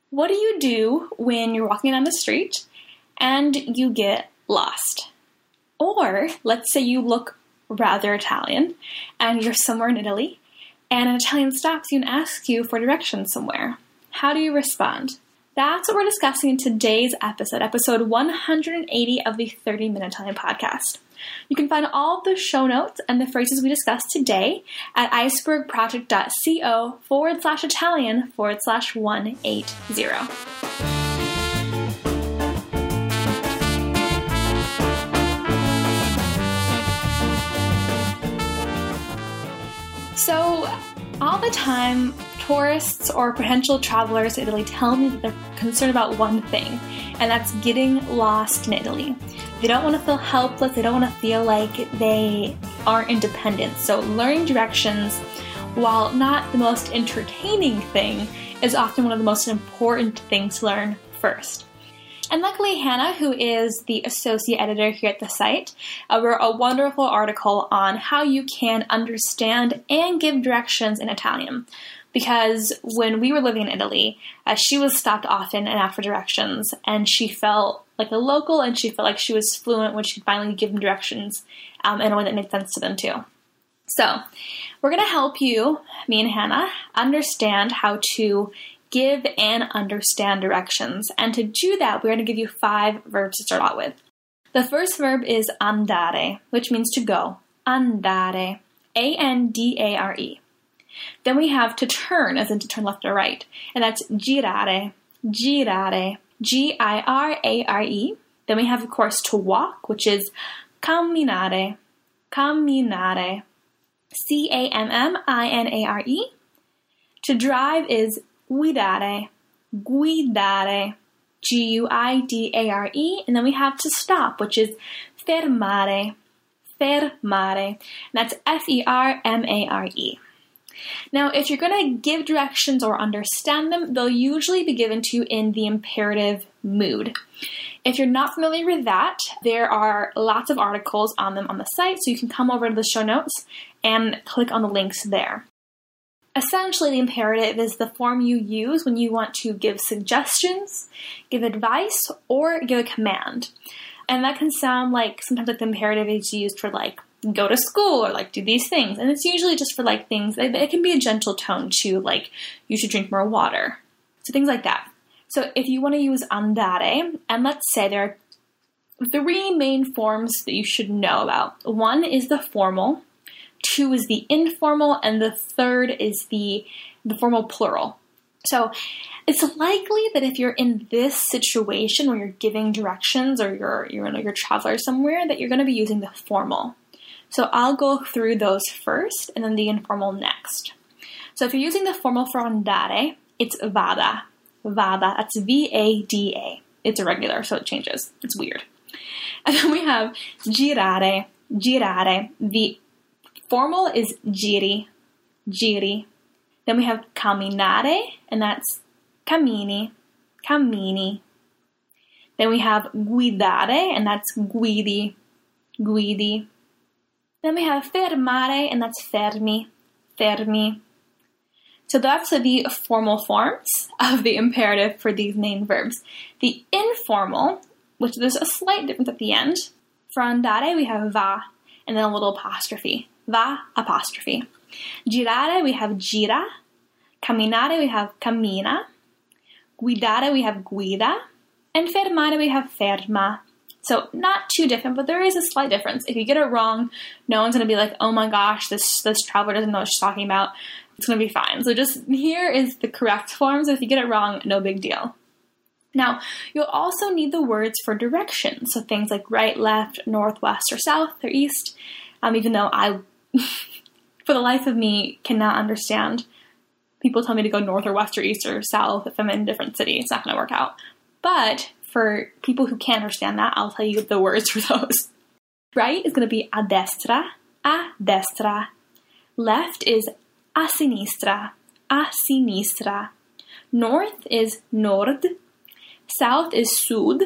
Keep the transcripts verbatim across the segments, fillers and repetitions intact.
What do you do when you're walking down the street and you get lost? Or let's say you look rather Italian and you're somewhere in Italy and an Italian stops you and asks you for directions somewhere. How do you respond? That's what we're discussing in today's episode, episode one hundred eighty of the thirty minute Italian podcast. You can find all the show notes and the phrases we discussed today at icebergproject.co forward slash Italian forward slash 180. So, all the time, tourists or potential travelers to Italy tell me that they're concerned about one thing, and that's getting lost in Italy. They don't want to feel helpless. They don't want to feel like they aren't independent. So learning directions, while not the most entertaining thing, is often one of the most important things to learn first. And luckily, Hannah, who is the associate editor here at the site, uh, wrote a wonderful article on how you can understand and give directions in Italian. Because when we were living in Italy, uh, she was stopped often and asked for directions, and she felt like a local, and she felt like she was fluent when she'd finally give them directions um, in a way that made sense to them too. So, we're going to help you, me and Hannah, understand how to give and understand directions. And to do that, we're going to give you five verbs to start out with. The first verb is andare, which means to go. Andare. A N D A R E. Then we have to turn, as in to turn left or right. And that's girare. Girare. G I R A R E. Then we have, of course, to walk, which is camminare. Camminare. C A M M I N A R E. To drive is guidare. Guidare. G U I D A R E. And then we have to stop, which is fermare. Fermare. And that's F E R M A R E. Now, if you're going to give directions or understand them, they'll usually be given to you in the imperative mood. If you're not familiar with that, there are lots of articles on them on the site, so you can come over to the show notes and click on the links there. Essentially, the imperative is the form you use when you want to give suggestions, give advice, or give a command. And that can sound like sometimes like the imperative is used for like go to school or like do these things. And it's usually just for like things, it can be a gentle tone to like you should drink more water. So things like that. So if you want to use andare, and let's say there are three main forms that you should know about. One is the formal, two is the informal, and the third is the, the formal plural. So it's likely that if you're in this situation where you're giving directions or you're, you're, you're a traveler somewhere, that you're going to be using the formal. So I'll go through those first and then the informal next. So if you're using the formal for andare, it's vada. Vada, that's V A D A. It's irregular, so it changes. It's weird. And then we have girare. Girare. The formal is giri. Giri. Then we have camminare, and that's cammini. Cammini. Then we have guidare, and that's guidi. Guidi. Then we have fermare, and that's fermi, fermi. So that's the formal forms of the imperative for these main verbs. The informal, which there's a slight difference at the end. For andare, we have va, and then a little apostrophe. Va, apostrophe. Girare, we have gira. Camminare, we have cammina. Guidare, we have guida. And fermare, we have ferma. So not too different, but there is a slight difference. If you get it wrong, no one's going to be like, oh my gosh, this, this traveler doesn't know what she's talking about. It's going to be fine. So just here is the correct form. So if you get it wrong, no big deal. Now, you'll also need the words for directions. So things like right, left, north, west, or south, or east. Um, even though I, for the life of me, cannot understand people tell me to go north or west or east or south if I'm in a different city. It's not going to work out. But for people who can't understand that, I'll tell you the words for those. Right is going to be a destra, a destra. Left is a sinistra, a sinistra. North is nord. South is sud.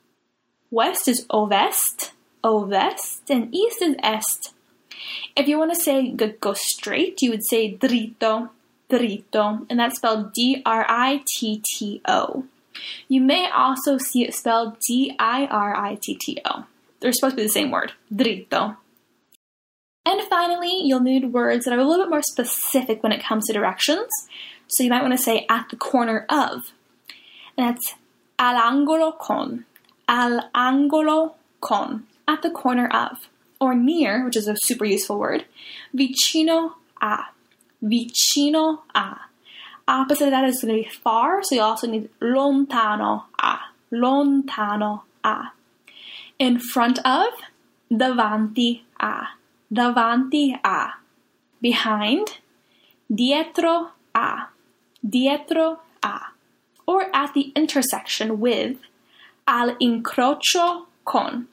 West is ovest, ovest. And east is est. If you want to say go straight, you would say dritto, dritto, and that's spelled D R I T T O. You may also see it spelled D I R I T T O. They're supposed to be the same word, dritto. And finally, you'll need words that are a little bit more specific when it comes to directions. So you might want to say at the corner of. And that's all'angolo con. All'angolo con. At the corner of. Or near, which is a super useful word. Vicino a. Vicino a. Opposite of that is going to be far, so you also need lontano a. Lontano a. In front of, davanti a. Davanti a. Behind, dietro a. Dietro a. Or at the intersection with, all'incrocio con.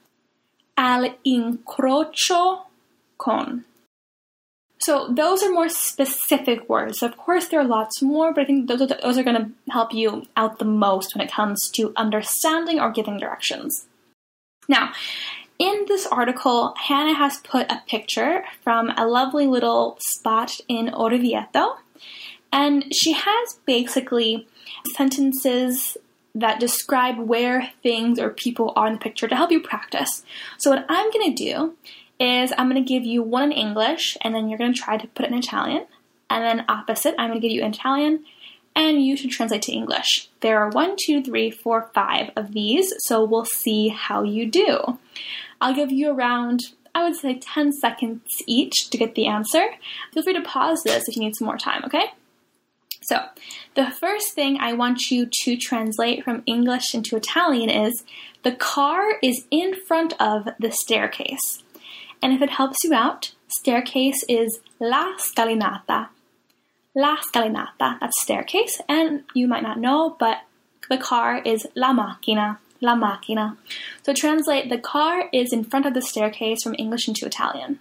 All'incrocio con. So those are more specific words. Of course, there are lots more, but I think those are, those are going to help you out the most when it comes to understanding or giving directions. Now, in this article, Hannah has put a picture from a lovely little spot in Orvieto, and she has basically sentences that describe where things or people are in the picture to help you practice. So what I'm going to do is I'm going to give you one in English, and then you're going to try to put it in Italian, and then opposite, I'm going to give you in Italian, and you should translate to English. There are one, two, three, four, five of these, so we'll see how you do. I'll give you around, I would say, ten seconds each to get the answer. Feel free to pause this if you need some more time, okay? So, the first thing I want you to translate from English into Italian is, the car is in front of the staircase. And if it helps you out, staircase is la scalinata. La scalinata, that's staircase, and you might not know, but the car is la macchina. La macchina. So translate, the car is in front of the staircase from English into Italian.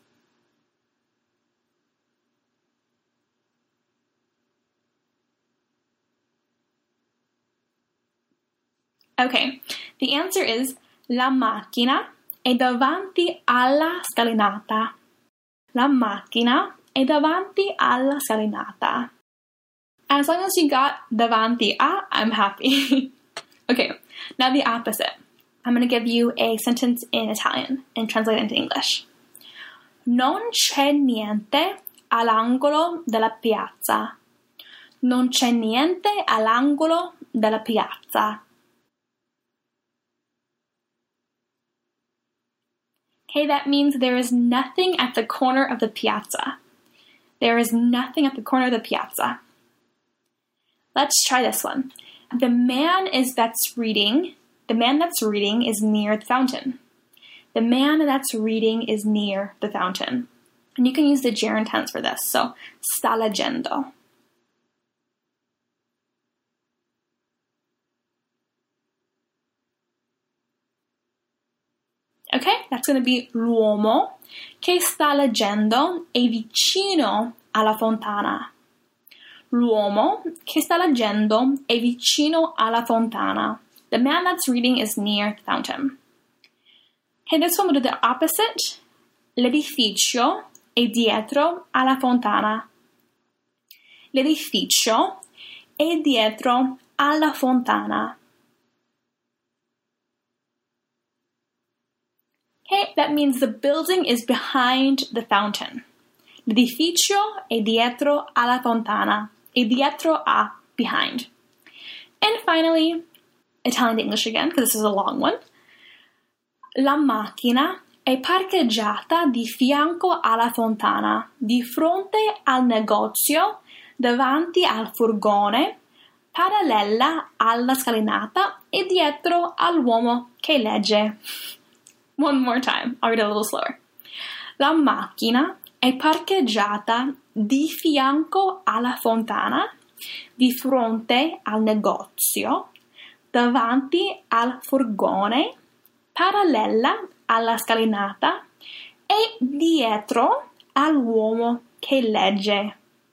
Okay, the answer is la macchina è davanti alla scalinata. La macchina è davanti alla scalinata. As long as you got davanti a, I'm happy. Okay, now the opposite. I'm going to give you a sentence in Italian and translate it into English. Non c'è niente all'angolo della piazza. Non c'è niente all'angolo della piazza. Okay, that means there is nothing at the corner of the piazza. There is nothing at the corner of the piazza. Let's try this one. The man is that's reading, the man that's reading is near the fountain. The man that's reading is near the fountain. And you can use the gerund tense for this. So, sta leggendo. Okay, that's going to be l'uomo che sta leggendo è vicino alla fontana. L'uomo che sta leggendo è vicino alla fontana. The man that's reading is near the fountain. Okay, this one will do the opposite. L'edificio è dietro alla fontana. L'edificio è dietro alla fontana. Okay, that means the building is behind the fountain. L'edificio è dietro alla fontana. È dietro a, behind. And finally, Italian to English again, because this is a long one. La macchina è parcheggiata di fianco alla fontana, di fronte al negozio, davanti al furgone, parallela alla scalinata e dietro all'uomo che legge. One more time. I'll read it a little slower. La macchina è parcheggiata di fianco alla fontana, di fronte al negozio, davanti al furgone, parallela alla scalinata e dietro all'uomo che legge.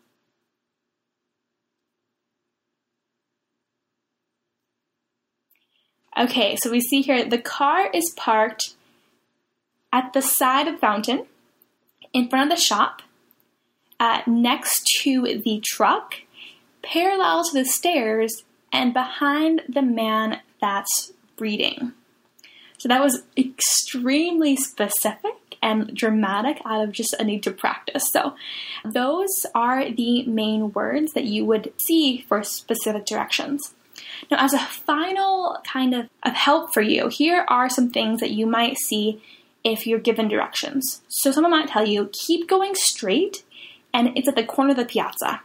Okay, so we see here the car is parked at the side of the fountain, in front of the shop, uh, next to the truck, parallel to the stairs, and behind the man that's reading. So that was extremely specific and dramatic out of just a need to practice. So those are the main words that you would see for specific directions. Now, as a final kind of, of help for you, here are some things that you might see if you're given directions. So someone might tell you, keep going straight, and it's at the corner of the piazza.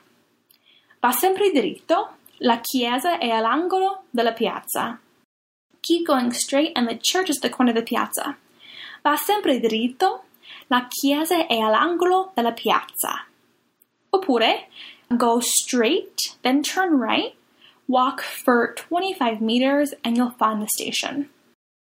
Va sempre diritto, la chiesa è all'angolo della piazza. Keep going straight, and the church is at the corner of the piazza. Va sempre diritto, la chiesa è all'angolo della piazza. Oppure, go straight, then turn right, walk for twenty-five meters, and you'll find the station.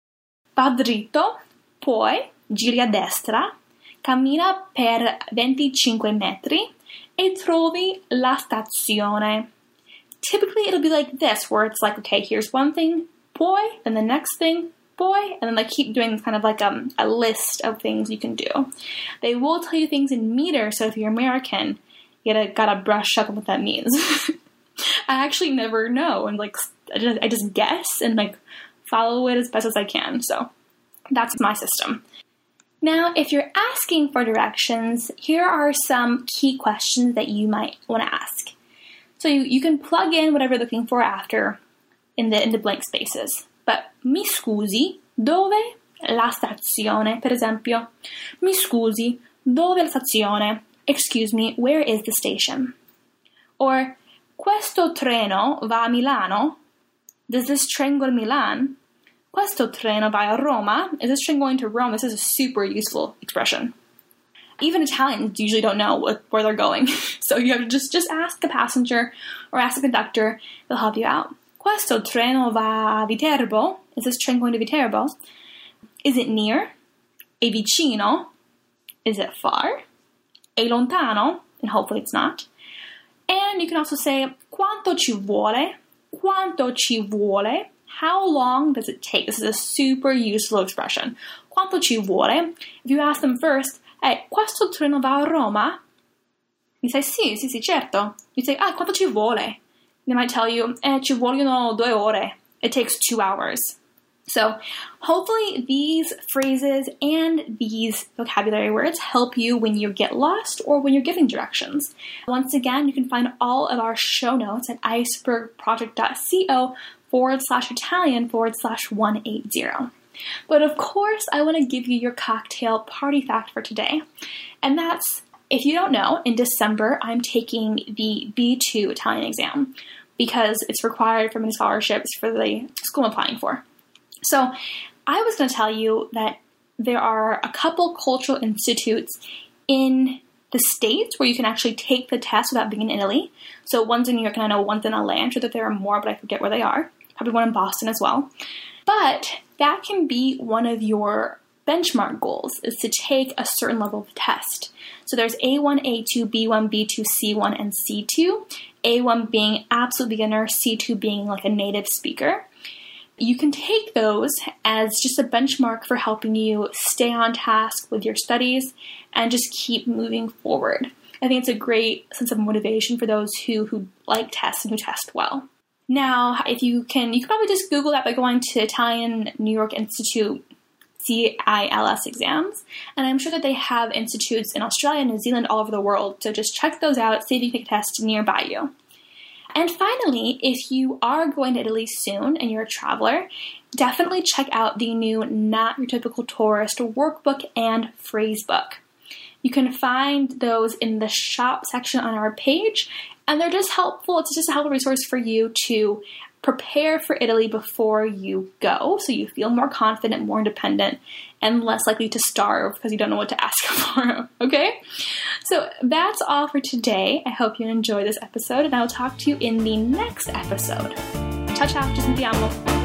Va dritto, poi giri a destra, cammina per venticinque metri, e trovi la stazione. Typically, it'll be like this, where it's like, okay, here's one thing, poi, then the next thing, poi, and then they keep doing kind of like um, a list of things you can do. They will tell you things in meters, so if you're American, you gotta, gotta brush up on what that means. I actually never know, and like, I just, I just guess and like follow it as best as I can, so that's my system. Now, if you're asking for directions, here are some key questions that you might want to ask. So you, you can plug in whatever you're looking for after in the, in the blank spaces. But mi scusi, dove la stazione? Per esempio, mi scusi, dove la stazione? Excuse me, where is the station? Or, questo treno va a Milano? Does this train go to Milan? Questo treno va a Roma? Is this train going to Rome? This is a super useful expression. Even Italians usually don't know what, where they're going. So you have to just, just ask the passenger or ask the conductor. They'll help you out. Questo treno va a Viterbo? Is this train going to Viterbo? Is it near? È vicino? Is it far? È lontano? And hopefully it's not. And you can also say, quanto ci vuole? Quanto ci vuole? How long does it take? This is a super useful expression. Quanto ci vuole? If you ask them first, eh, questo treno va a Roma? You say, sì, sì, sì, certo. You say, ah, quanto ci vuole? They might tell you, eh, ci vogliono due ore. It takes two hours. So hopefully these phrases and these vocabulary words help you when you get lost or when you're giving directions. Once again, you can find all of our show notes at icebergproject.co forward slash Italian forward slash 180. But of course, I want to give you your cocktail party fact for today. And that's, if you don't know, in December, I'm taking the B two Italian exam because it's required for many scholarships for the school I'm applying for. So I was going to tell you that there are a couple cultural institutes in the States where you can actually take the test without being in Italy. So one's in New York and I know one's in L A. I'm sure that there are more, but I forget where they are. Probably one in Boston as well. But that can be one of your benchmark goals, is to take a certain level of test. So there's A one, A two, B one, B two, C one, and C two. A one being absolute beginner, C two being like a native speaker. You can take those as just a benchmark for helping you stay on task with your studies and just keep moving forward. I think it's a great sense of motivation for those who, who like tests and who test well. Now, if you can, you can probably just Google that by going to Italian New York Institute C I L S exams. And I'm sure that they have institutes in Australia, New Zealand, all over the world. So just check those out, see if you can take a test nearby you. And finally, if you are going to Italy soon and you're a traveler, definitely check out the new Not Your Typical Tourist workbook and phrase book. You can find those in the shop section on our page, and they're just helpful. It's just a helpful resource for you to prepare for Italy before you go, so you feel more confident, more independent, and less likely to starve because you don't know what to ask for, okay? So that's all for today. I hope you enjoyed this episode, and I will talk to you in the next episode. Ciao, ciao, ci sentiamo.